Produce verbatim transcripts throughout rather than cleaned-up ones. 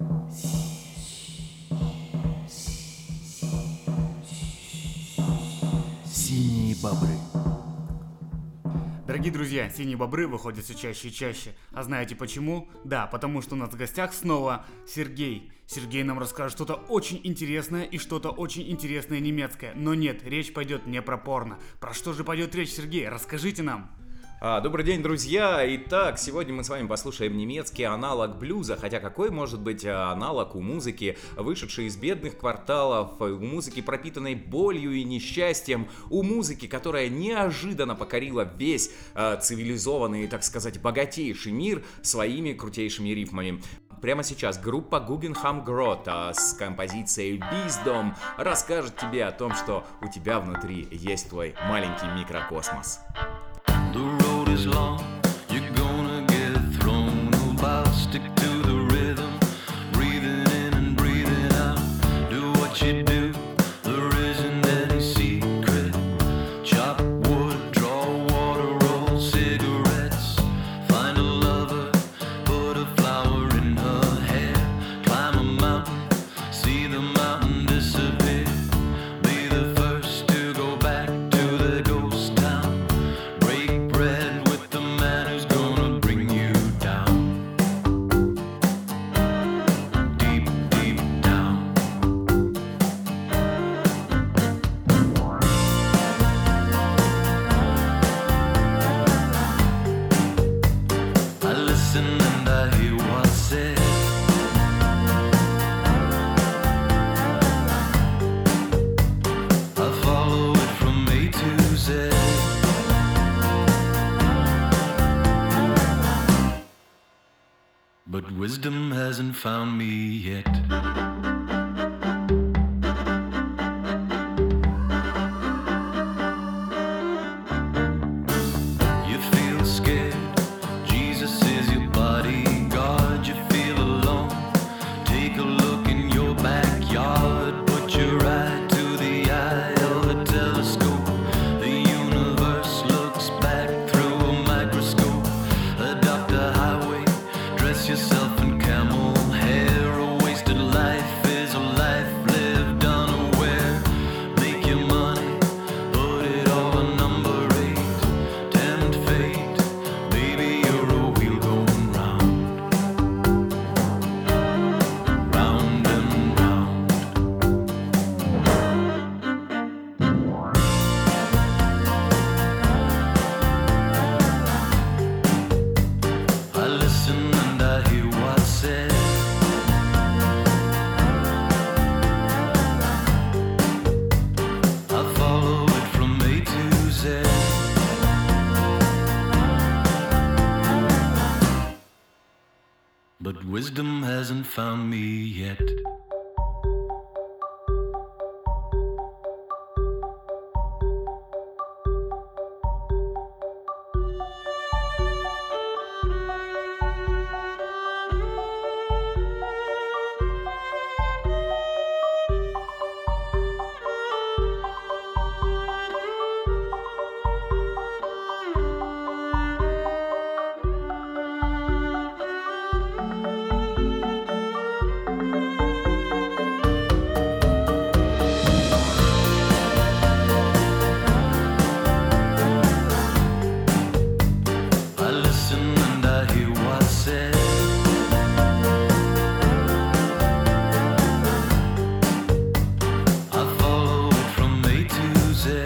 Синие бобры. Дорогие друзья, синие бобры выходят все чаще и чаще. А знаете почему? Да, потому что у нас в гостях снова Сергей. Сергей нам расскажет что-то очень интересное и что-то очень интересное немецкое. Но нет, речь пойдет не про порно. Про что же пойдет речь, Сергей? Расскажите нам. А, добрый день, друзья! Итак, сегодня мы с вами послушаем немецкий аналог блюза, хотя какой может быть аналог у музыки, вышедшей из бедных кварталов, у музыки, пропитанной болью и несчастьем, у музыки, которая неожиданно покорила весь э, цивилизованный, так сказать, богатейший мир своими крутейшими рифмами. Прямо сейчас группа Guggenheim Grotta с композицией Wisdom расскажет тебе о том, что у тебя внутри есть твой маленький микрокосмос. The road is long, you're gonna get thrown about. Stick to the rhythm, breathing in and breathing out. Do what you do, there isn't any secret. Chop wood, draw water, roll cigarettes. Find a lover, put a flower in her hair. Climb a mountain, see the mountain disappear. Be the first to go back to the ghost town. Bread with the man who's gonna bring you down. Deep, deep down. I listen and I hear what's said. I follow it from A to Z. But wisdom hasn't found me yet. You feel scared, Jesus is your bodyguard. You feel alone, take a look in your backyard. Put your eye to the eye of a telescope. The universe looks back through a microscope. Adopt a highway, dress yourself in camel hair. A wasted life is a life lived unaware. Make your money, put it all on number eight. Tempt fate, baby, you're a wheel going round. Round and round. I listen and I hear what's said. I follow it from A to Z. But wisdom hasn't found me yet. I listen and I hear what's said. I follow it from A to Z.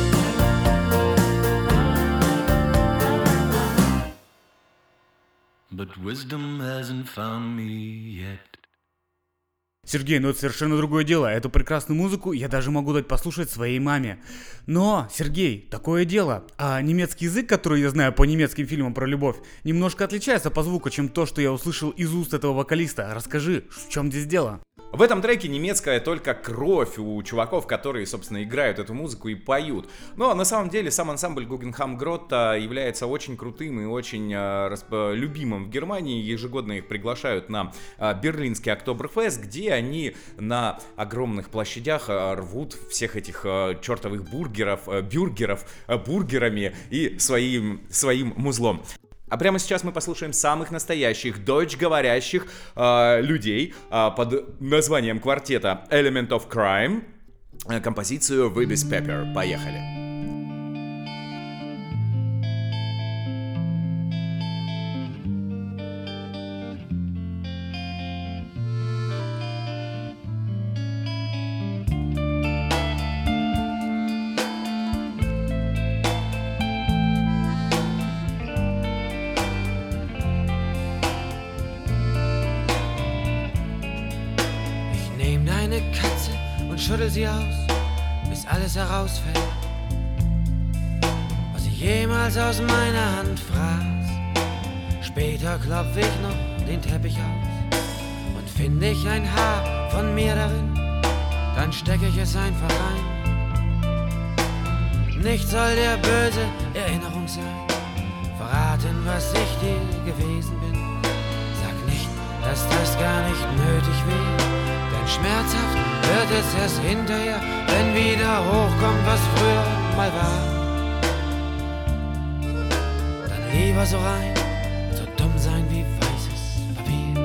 But wisdom hasn't found me yet. Сергей, ну это совершенно другое дело. Эту прекрасную музыку я даже могу дать послушать своей маме. Но, Сергей, такое дело. А немецкий язык, который я знаю по немецким фильмам про любовь, немножко отличается по звуку, чем то, что я услышал из уст этого вокалиста. Расскажи, в чем здесь дело? В этом треке немецкая только кровь у чуваков, которые, собственно, играют эту музыку и поют. Но на самом деле сам ансамбль Guggenheim Grotta является очень крутым и очень э, расп- любимым в Германии. Ежегодно их приглашают на э, берлинский Октоберфест, где они на огромных площадях э, рвут всех этих э, чертовых бургеров, э, бюргеров э, бургерами и своим, своим музлом. А прямо сейчас мы послушаем самых настоящих дойчговорящих э, людей э, под названием квартета Element of Crime, э, композицию Wibis Pepper. Поехали. Schüttel sie aus, bis alles herausfällt, was sie jemals aus meiner Hand fraß. Später klopf ich noch den Teppich aus und finde ich ein Haar von mir darin, dann stecke ich es einfach rein. Nicht soll der böse Erinnerung sein, verraten, was ich dir gewesen bin. Sag nicht, dass das gar nicht nötig wäre. Schmerzhaft wird es erst hinterher, wenn wieder hochkommt, was früher mal war. Dann lieber so rein, so dumm sein wie weißes Papier.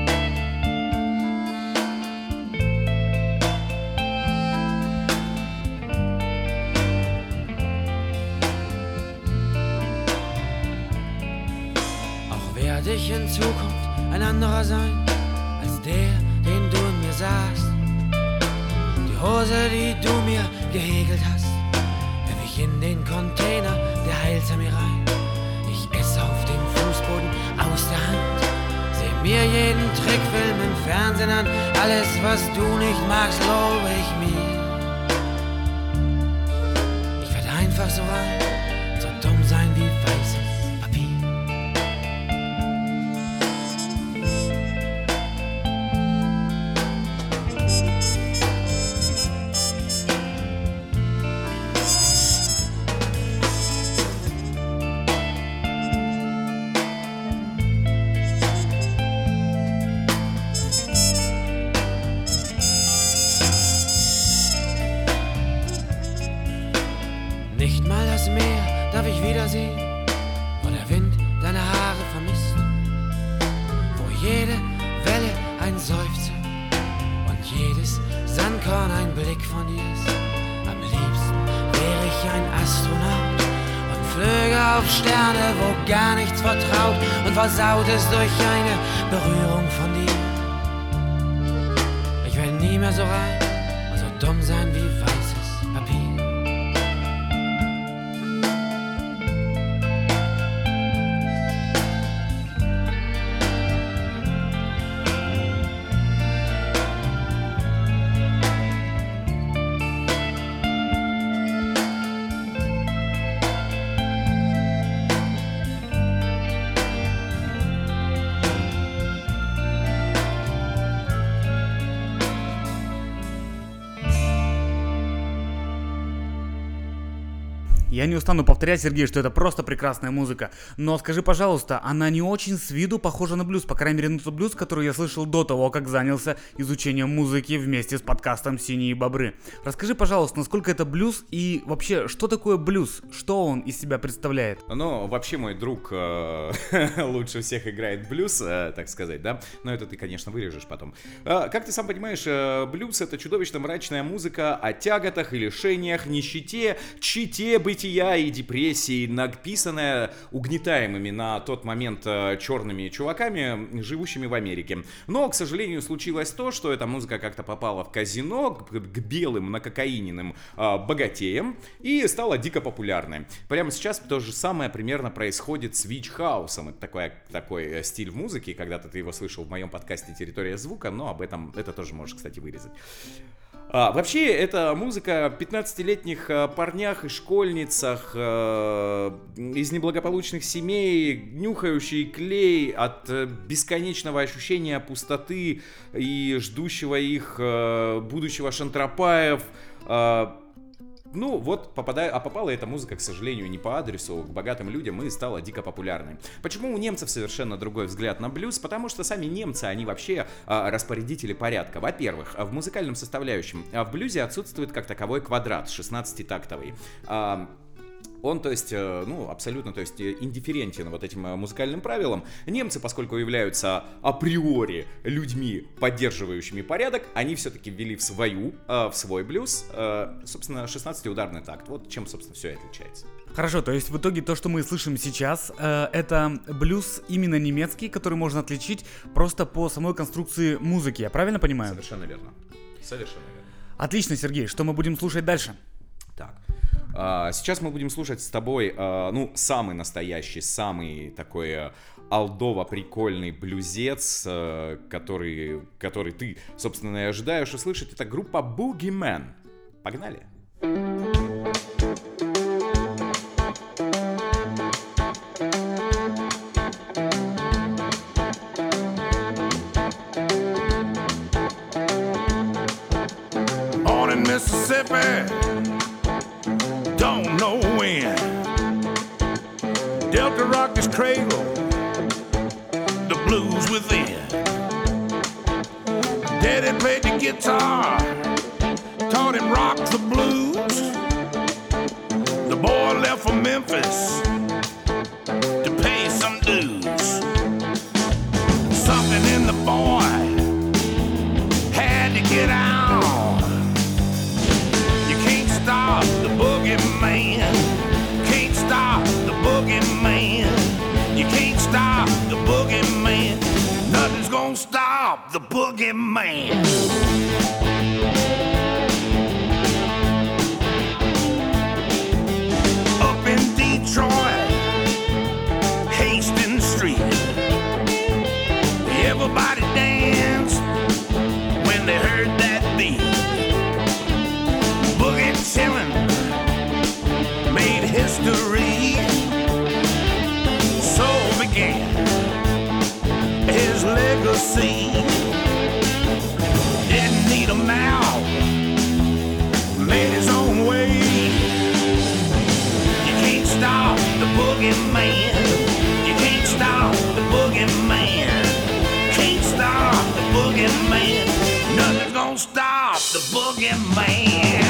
Auch werde ich in Zukunft ein anderer sein, als der, den du in mir sahst. Die Hose, die du mir gehäkelt hast, werf ich in den Container der Heilsarmee rein. Ich esse auf dem Fußboden aus der Hand, seh mir jeden Trickfilm im Fernsehen an. Alles, was du nicht magst, lobe ich mir. Ich werd einfach so rein, so dumm sein wie weißes Papier. Nicht mal das Meer darf ich wiedersehen, wo der Wind deine Haare vermisst, wo jede Welle ein Seufzer und jedes Sandkorn ein Blick von dir ist. Am liebsten wäre ich ein Astronaut und flöge auf Sterne, wo gar nichts vertraut und versaut ist durch eine Berührung von dir. Ich werde nie mehr so rein und so dumm sein wie weißes Papier. Я не устану повторять, Сергей, что это просто прекрасная музыка. Но скажи, пожалуйста, она не очень с виду похожа на блюз, по крайней мере на тот блюз, который я слышал до того, как занялся изучением музыки вместе с подкастом «Синие бобры». Расскажи, пожалуйста, насколько это блюз и вообще, что такое блюз? Что он из себя представляет? Ну, вообще мой друг э, лучше всех играет блюз, э, так сказать, да? Но это ты, конечно, вырежешь потом. Э, как ты сам понимаешь, э, блюз — это чудовищно мрачная музыка о тяготах и лишениях, нищете, чите, бытия и депрессии, написанная угнетаемыми на тот момент э, черными чуваками, живущими в Америке. Но, к сожалению, случилось то, что эта музыка как-то попала в казино к, к белым накокаиненным э, богатеям и стала дико популярной. Прямо сейчас то же самое примерно происходит с вич-хаусом. Это такой, такой стиль в музыке. Когда-то ты его слышал в моем подкасте «Территория звука», но об этом это тоже можешь, кстати, вырезать. А, вообще, это музыка о пятнадцатилетних а, парнях и школьницах а, из неблагополучных семей, нюхающие клей от а, бесконечного ощущения пустоты и ждущего их а, будущего шантропаев. А, Ну вот, попадая, а попала эта музыка, к сожалению, не по адресу, к богатым людям и стала дико популярной. Почему у немцев совершенно другой взгляд на блюз? Потому что сами немцы, они вообще а, распорядители порядка. Во-первых, в музыкальном составляющем в блюзе отсутствует как таковой квадрат шестнадцатитактовый. А, Он, то есть, ну, абсолютно, то есть, индифферентен вот этим музыкальным правилам. Немцы, поскольку являются априори людьми, поддерживающими порядок, они все-таки ввели в свою, в свой блюз, собственно, шестнадцатиударный такт. Вот чем, собственно, все и отличается. Хорошо, то есть в итоге то, что мы слышим сейчас, это блюз именно немецкий, который можно отличить просто по самой конструкции музыки, я правильно понимаю? Совершенно верно. Совершенно верно. Отлично, Сергей, что мы будем слушать дальше? Так. Сейчас мы будем слушать с тобой, ну, самый настоящий, самый такой олдово-прикольный блюзец, который, который ты, собственно, и ожидаешь услышать. Это группа Boogeyman. Погнали! Born in Mississippi, don't know when. Delta rocked his cradle, the blues within. Daddy played the guitar, taught him rock the blues. The boy left for Memphis to pay some dues. Something in the boy had to get out. You can't stop the boogeyman. Can't stop the boogeyman. You can't stop the boogeyman. Nothing's gonna stop the boogeyman. Up in Detroit, Hastings Street, everybody danced when they heard that beat. Boogie chillin' made history. So began his legacy. Didn't need a mouth, made his own way. You can't stop the boogeyman. You can't stop the boogeyman. Can't stop the boogeyman. Nothing's gonna stop the boogeyman.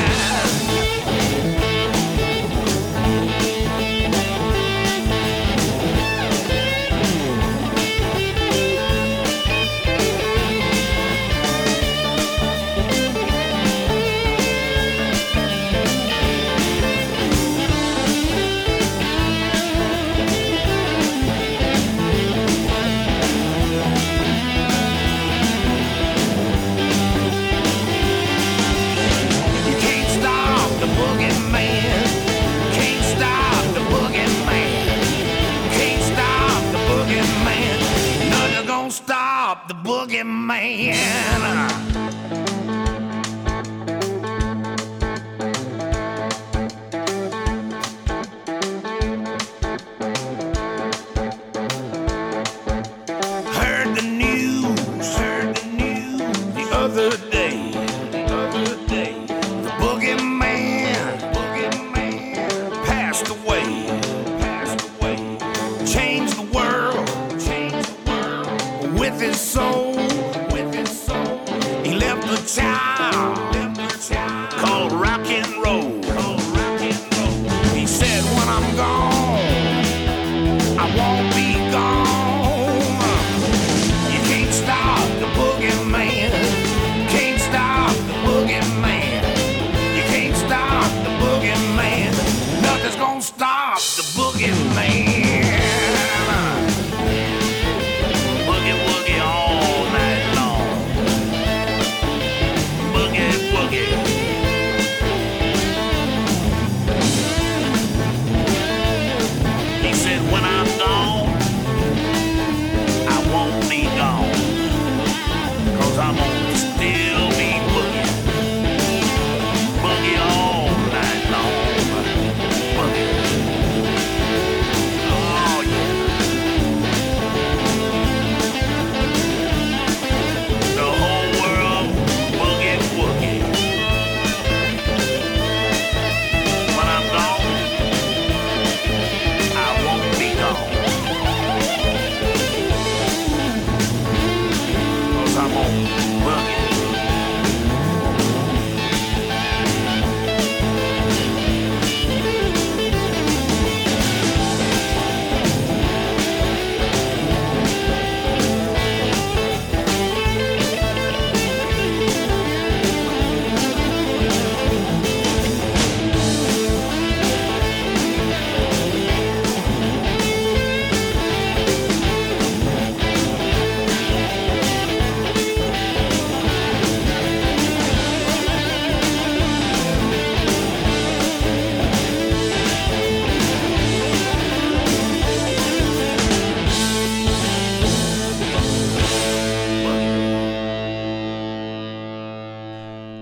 Stop the boogeyman. Heard the news, heard the news the other day, the other day. The boogeyman, boogeyman passed away, passed away. Changed the world, changed the world with his soul, with his soul. He left a child, left a child called rock and roll, called rock and roll. He said, when I'm gone, I won't be gone. You can't stop the boogeyman. Can't stop the boogeyman. You can't stop the boogeyman. Nothing's gonna stop the boogeyman. Boogie woogie all night long. Boogie woogie. He said, when I'm gone, I won't be gone. Cause I'm gonna still be boogie. Boogie all night long. Boogie. Oh yeah. The whole world boogie woogie. When I'm gone, I won't be gone. Cause I'm on boogie.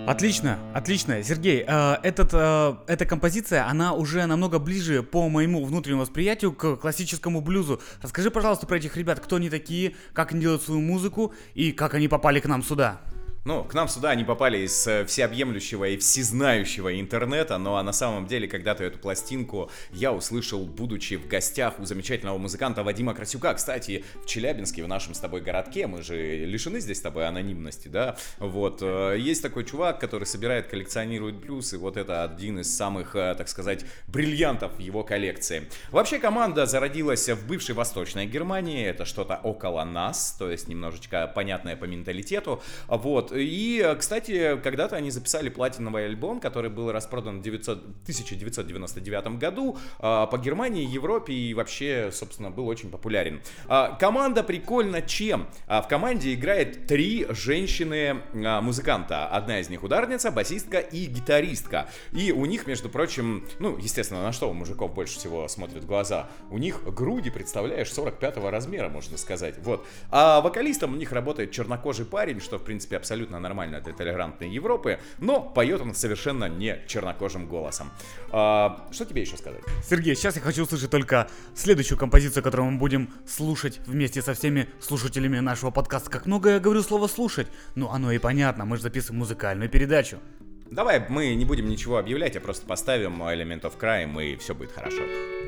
Отлично, отлично. Сергей, э, этот, э, эта композиция, она уже намного ближе по моему внутреннему восприятию к классическому блюзу. Расскажи, пожалуйста, про этих ребят, кто они такие, как они делают свою музыку и как они попали к нам сюда. Ну, к нам сюда они попали из э, всеобъемлющего и всезнающего интернета, ну а на самом деле когда-то эту пластинку я услышал, будучи в гостях у замечательного музыканта Вадима Красюка. Кстати, в Челябинске, в нашем с тобой городке, мы же лишены здесь с тобой анонимности, да? Вот, э, есть такой чувак, который собирает, коллекционирует блюз, и вот это один из самых, э, так сказать, бриллиантов в его коллекции. Вообще команда зародилась в бывшей Восточной Германии, это что-то около нас, то есть немножечко понятное по менталитету, вот. И, кстати, когда-то они записали платиновый альбом, который был распродан в тысяча девятьсот девяносто девятом году по Германии, Европе и вообще, собственно, был очень популярен. Команда прикольна чем? В команде играет три женщины-музыканта. Одна из них ударница, басистка и гитаристка. И у них, между прочим, ну, естественно, на что у мужиков больше всего смотрят в глаза? У них груди, представляешь, сорок пятого размера, можно сказать. Вот. А вокалистом у них работает чернокожий парень, что, в принципе, абсолютно нормально для толерантной Европы, но поет он совершенно не чернокожим голосом. А, что тебе еще сказать? Сергей, сейчас я хочу услышать только следующую композицию, которую мы будем слушать вместе со всеми слушателями нашего подкаста. Как много я говорю слово «слушать», ну оно и понятно, мы же записываем музыкальную передачу. Давай мы не будем ничего объявлять, а просто поставим Element of Crime, и все будет хорошо.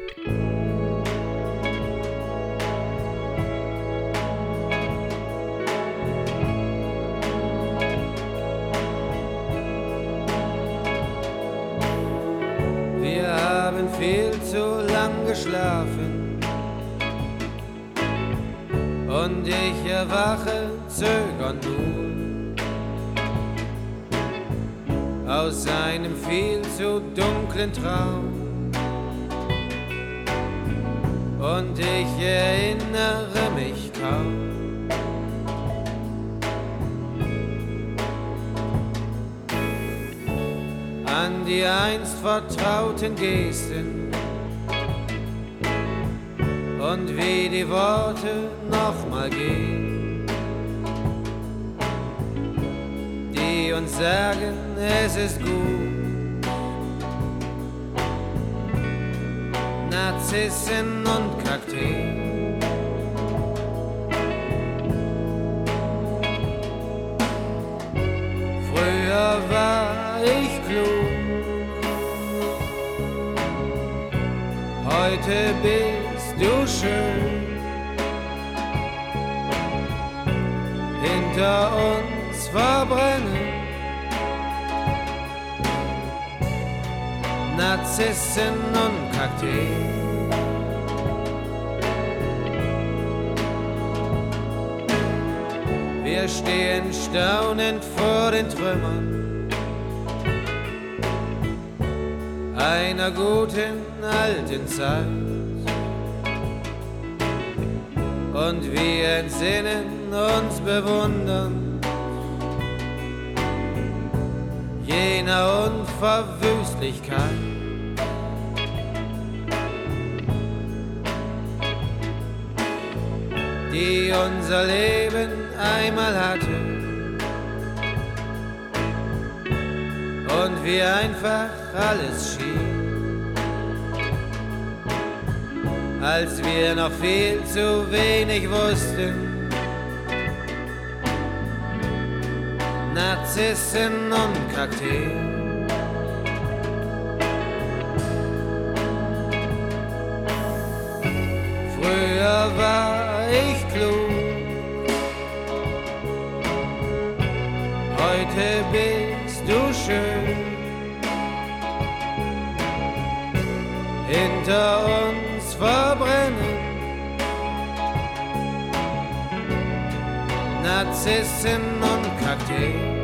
Viel zu lang geschlafen und ich erwache zögernd nur aus einem viel zu dunklen Traum und ich erinnere mich kaum. An die einst vertrauten Gesten und wie die Worte nochmal gehen, die uns sagen, es ist gut. Narzissen und Kakteen. Früher war ich klug, heute bist du schön. Hinter uns verbrennen Narzissen und Kakteen. Wir stehen staunend vor den Trümmern einer guten alten Zeit und wir entsinnen uns bewundern jener Unverwüstlichkeit. Die unser Leben einmal hatte und wie einfach alles schien, als wir noch viel zu wenig wussten. Narzissen und Kakteen. Früher war ich klug, heute bist du schön. Hinter uns verbrennen Narzissen und Kakteen.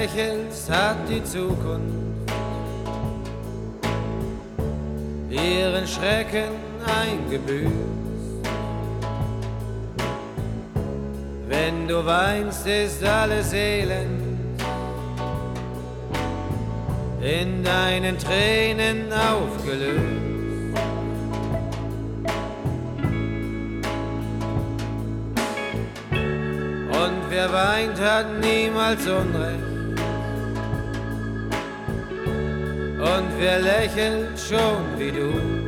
lächelst, hat die Zukunft ihren Schrecken eingebüßt. Wenn du weinst, ist alles elend in deinen Tränen aufgelöst. Und wer weint, hat niemals Unrecht. Und wer lächelt, schon wie du.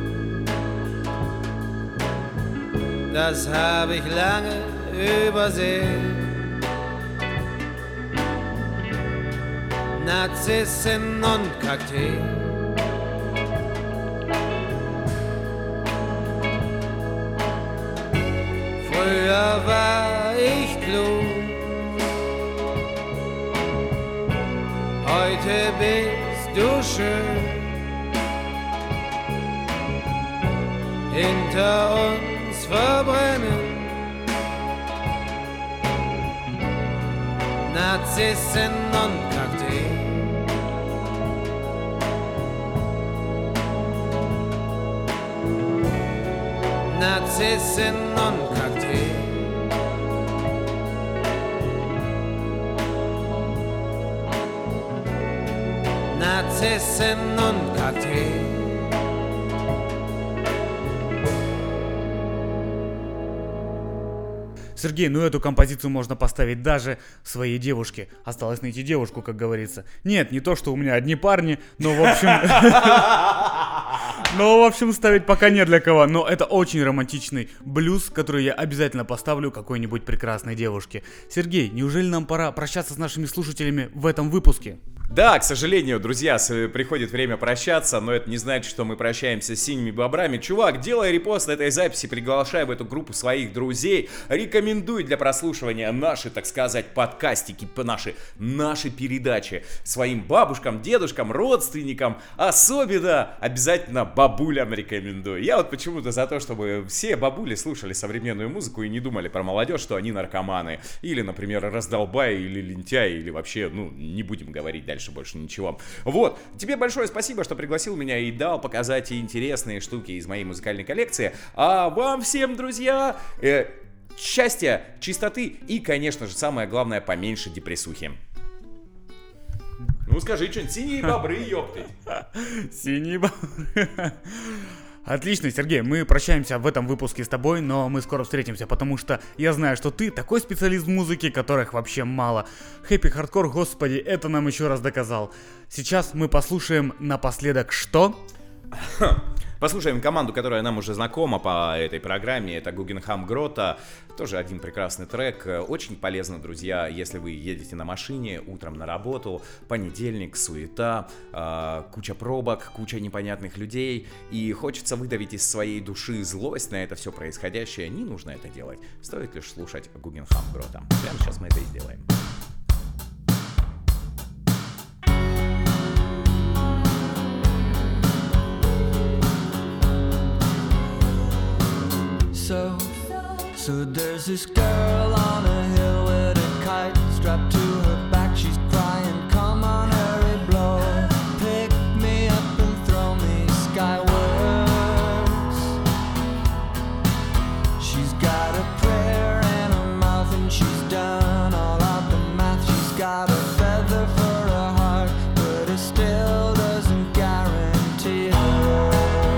Das hab ich lange übersehen. Narzissen und Kakteen. Früher war ich klug, heute bist du schön. Hinter uns verbrennen Narzissen und Kakteen. Narzissen und Kakteen. Нарциссы und Kakteen. Сергей, ну эту композицию можно поставить даже своей девушке. Осталось найти девушку, как говорится. Нет, не то, что у меня одни парни, но в общем... Но, в общем, ставить пока не для кого. Но это очень романтичный блюз, который я обязательно поставлю какой-нибудь прекрасной девушке. Сергей, неужели нам пора прощаться с нашими слушателями в этом выпуске? Да, к сожалению, друзья, приходит время прощаться, но это не значит, что мы прощаемся с синими бобрами. Чувак, делай репост этой записи, приглашай в эту группу своих друзей, рекомендуй для прослушивания наши, так сказать, подкастики, наши, наши передачи своим бабушкам, дедушкам, родственникам, особенно обязательно бабулям рекомендую. Я вот почему-то за то, чтобы все бабули слушали современную музыку и не думали про молодежь, что они наркоманы, или, например, раздолбаи, или лентяи, или вообще, ну, не будем говорить дальше. Дальше больше ничего. Вот, тебе большое спасибо, что пригласил меня и дал показать интересные штуки из моей музыкальной коллекции. А вам всем, друзья, э, счастья, чистоты и, конечно же, самое главное, поменьше депрессухи. Ну скажи что-нибудь, синие бобры, ёпты. Синие бобры. Отлично, Сергей, мы прощаемся в этом выпуске с тобой, но мы скоро встретимся, потому что я знаю, что ты такой специалист в музыке, которых вообще мало. Хэппи хардкор, господи, это нам еще раз доказал. Сейчас мы послушаем напоследок что? Послушаем команду, которая нам уже знакома по этой программе. Это Гугенхайм Грота. Тоже один прекрасный трек. Очень полезно, друзья, если вы едете на машине утром на работу. Понедельник, суета, э, куча пробок, куча непонятных людей. И хочется выдавить из своей души злость на это все происходящее. Не нужно это делать. Стоит лишь слушать Гугенхайм Грота. Прямо сейчас мы это и сделаем. So, so there's this girl on a hill with a kite strapped to her back. She's crying, come on, hurry, blow. Pick me up and throw me skywards. She's got a prayer in her mouth and she's done all of the math. She's got a feather for a heart, but it still doesn't guarantee her.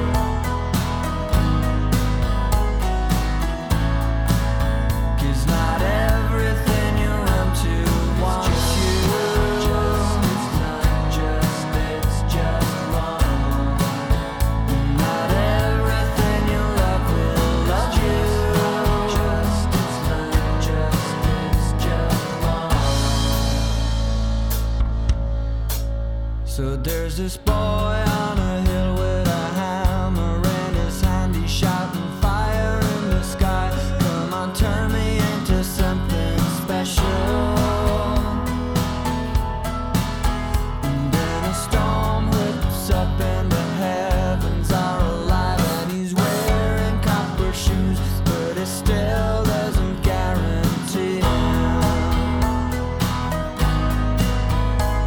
So there's this boy on a hill with a hammer in his hand. He's shouting fire in the sky. Come on, turn me into something special. And then a storm whips up and the heavens are alive. And he's wearing copper shoes, but it still doesn't guarantee him.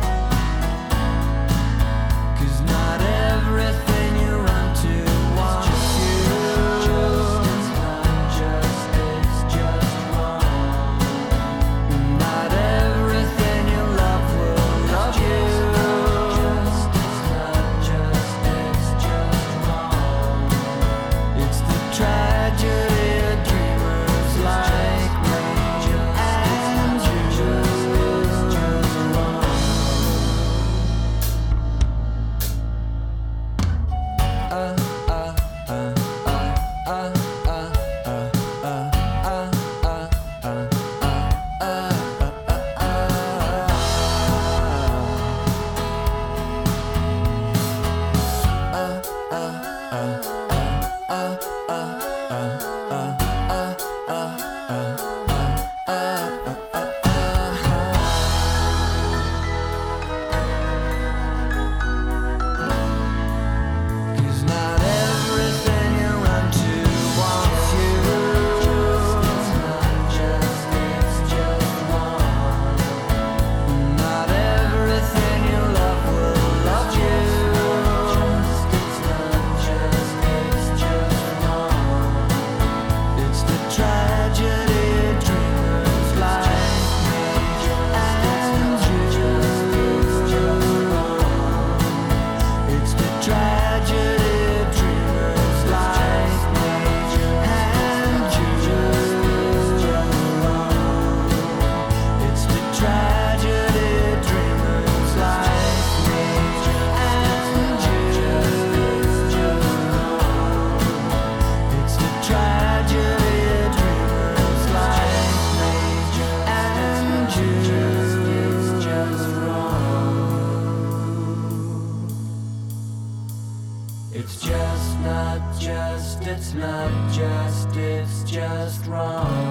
It's just not just, it's not just, it's just wrong.